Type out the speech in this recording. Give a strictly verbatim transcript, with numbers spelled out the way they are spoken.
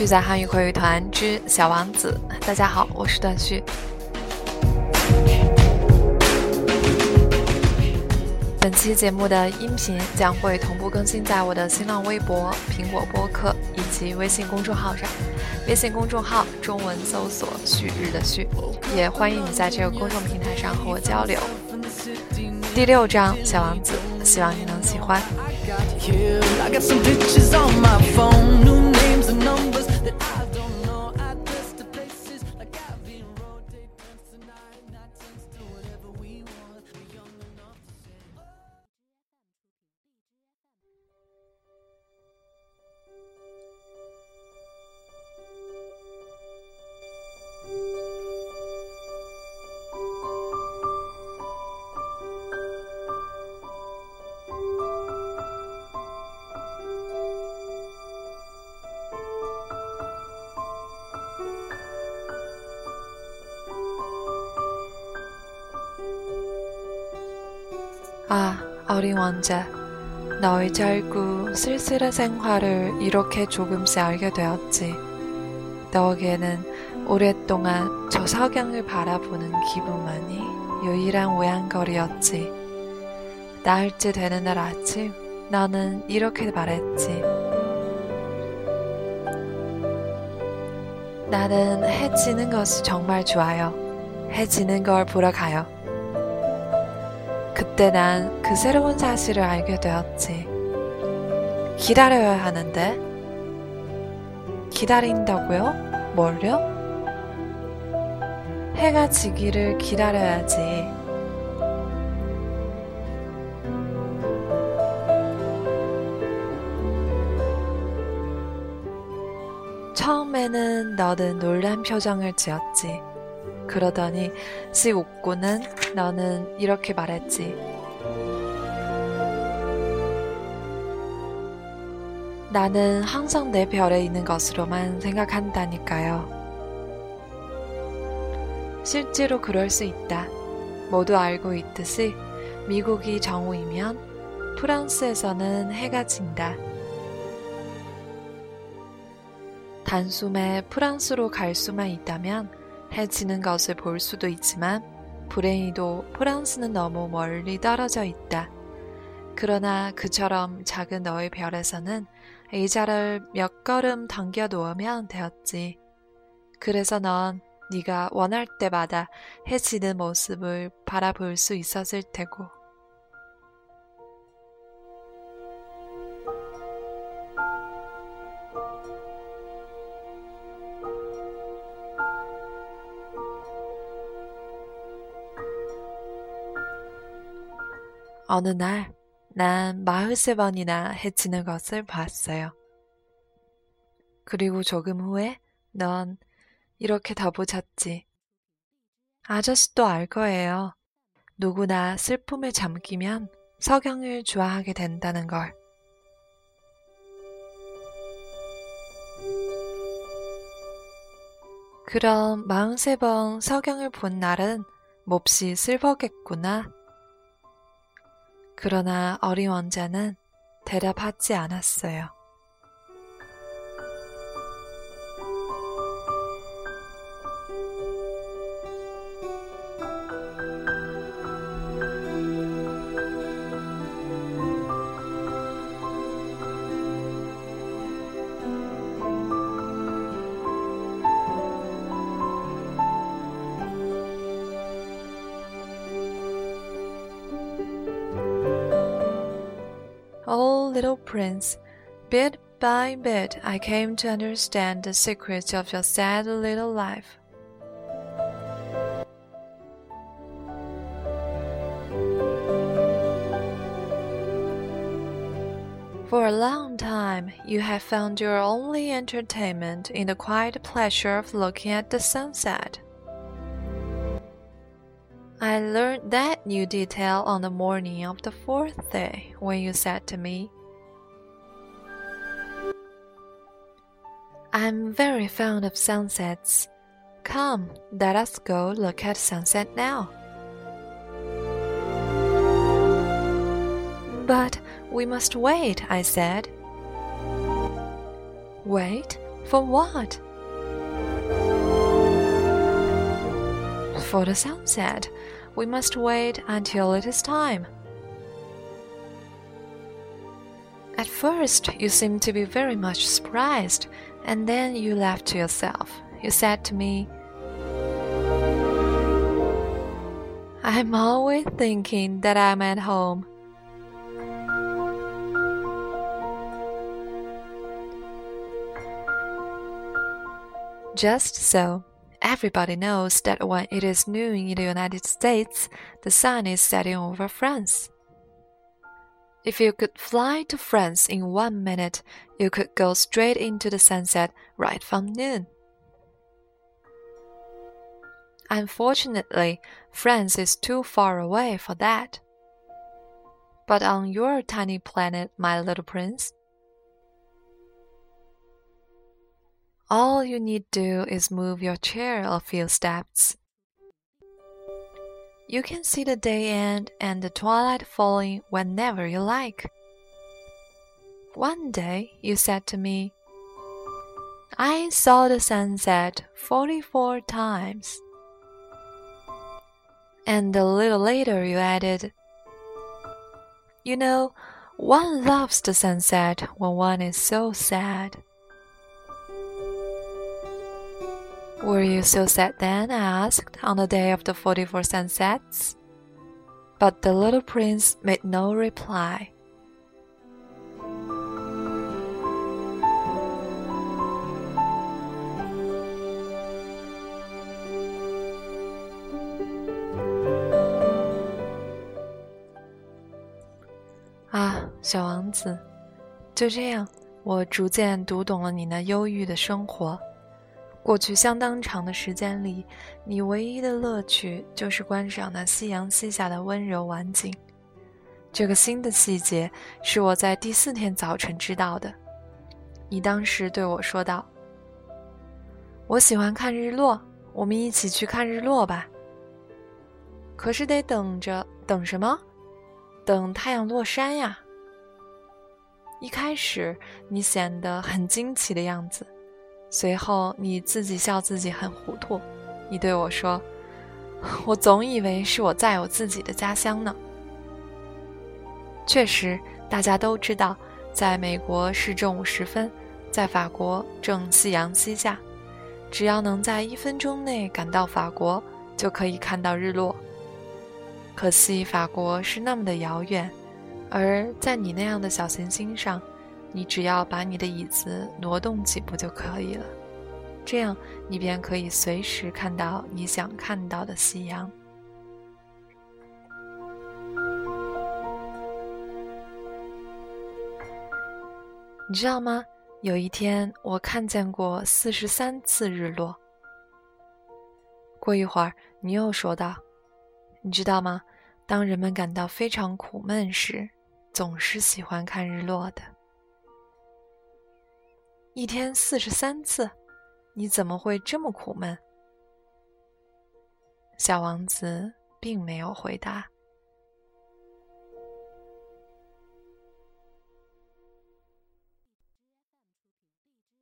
在汉语口语团之小王子。大家好，我是段旭。本期节目的音频将会同步更新在我的新浪微博、苹果播客以及微信公众号上。微信公众号中文搜索旭日的旭，也欢迎你在这个公众平台上和我交流。第六章小王子，希望你能喜欢。아, 어린 왕자, 너의 짧고 쓸쓸한 생활을 이렇게 조금씩 알게 되었지. 너에게는 오랫동안 저 석양을 바라보는 기분만이 유일한 오양거리였지. 나흘째 되는 날 아침, 너는 이렇게 말했지. 나는 해 지는 것이 정말 좋아요. 해 지는 걸 보러 가요. 그때 난 그 새로운 사실을 알게 되었지. 기다려야 하는데? 기다린다고요? 뭘요? 해가 지기를 기다려야지. 처음에는 너는 놀란 표정을 지었지. 그러더니 씩 웃고는 너는 이렇게 말했지. 나는 항상 내 별에 있는 것으로만 생각한다니까요. 실제로 그럴 수 있다. 모두 알고 있듯이 미국이 정오이면 프랑스에서는 해가 진다. 단숨에 프랑스로 갈 수만 있다면 해 지는 것을 볼 수도 있지만 불행히도 프랑스는 너무 멀리 떨어져 있다. 그러나 그처럼 작은 너의 별에서는 의자를 몇 걸음 당겨 놓으면 되었지. 그래서 넌 네가 원할 때마다 해 지는 모습을 바라볼 수 있었을 테고. 어느 날 난 마흔세 번이나 해 지는 것을 봤어요. 그리고 조금 후에 넌 이렇게 덧붙였지. 아저씨도 알 거예요. 누구나 슬픔에 잠기면 석양을 좋아하게 된다는 걸. 그럼 마흔세 번 석양을 본 날은 몹시 슬퍼겠구나. 그러나 어린 왕자는 대답하지 않았어요. Oh, little prince, bit by bit I came to understand the secrets of your sad little life. For a long time, you have found your only entertainment in the quiet pleasure of looking at the sunset. I learned that new detail on the morning of the fourth day when you said to me, I'm very fond of sunsets. Come, let us go look at sunset now. But we must wait, I said. Wait? For what? For the sunset. We must wait until it is time. At first, you seemed to be very much surprised, and then you laughed to yourself. You said to me, I'm always thinking that I'm at home. Just so, everybody knows that when it is noon in the United States, the sun is setting over France. If you could fly to France in one minute, you could go straight into the sunset right from noon. Unfortunately, France is too far away for that. But on your tiny planet, my little prince, all you need do is move your chair a few steps. You can see the day end and the twilight falling whenever you like. One day you said to me, I saw the sunset forty-four times. And a little later you added, You know, one loves the sunset when one is so sad. Were you so sad then? I asked, on the day of the forty-four sunsets. But the little prince made no reply.啊，小王子，就这样，我逐渐读懂了你那忧郁的生活。过去相当长的时间里，你唯一的乐趣就是观赏那夕阳西下的温柔晚景。这个新的细节是我在第四天早晨知道的。你当时对我说道：“我喜欢看日落，我们一起去看日落吧。”可是得等着，等什么？等太阳落山呀。一开始你显得很惊奇的样子。随后你自己笑自己很糊涂，你对我说，我总以为是我在我自己的家乡呢。确实，大家都知道，在美国是正午时分，在法国正夕阳西下，只要能在一分钟内赶到法国，就可以看到日落。可惜法国是那么的遥远，而在你那样的小行星上，你只要把你的椅子挪动几步就可以了，这样你便可以随时看到你想看到的夕阳。你知道吗？有一天我看见过四十三次日落。过一会儿你又说道，你知道吗？当人们感到非常苦闷时，总是喜欢看日落的。一天四十三次，你怎么会这么苦闷？小王子并没有回答。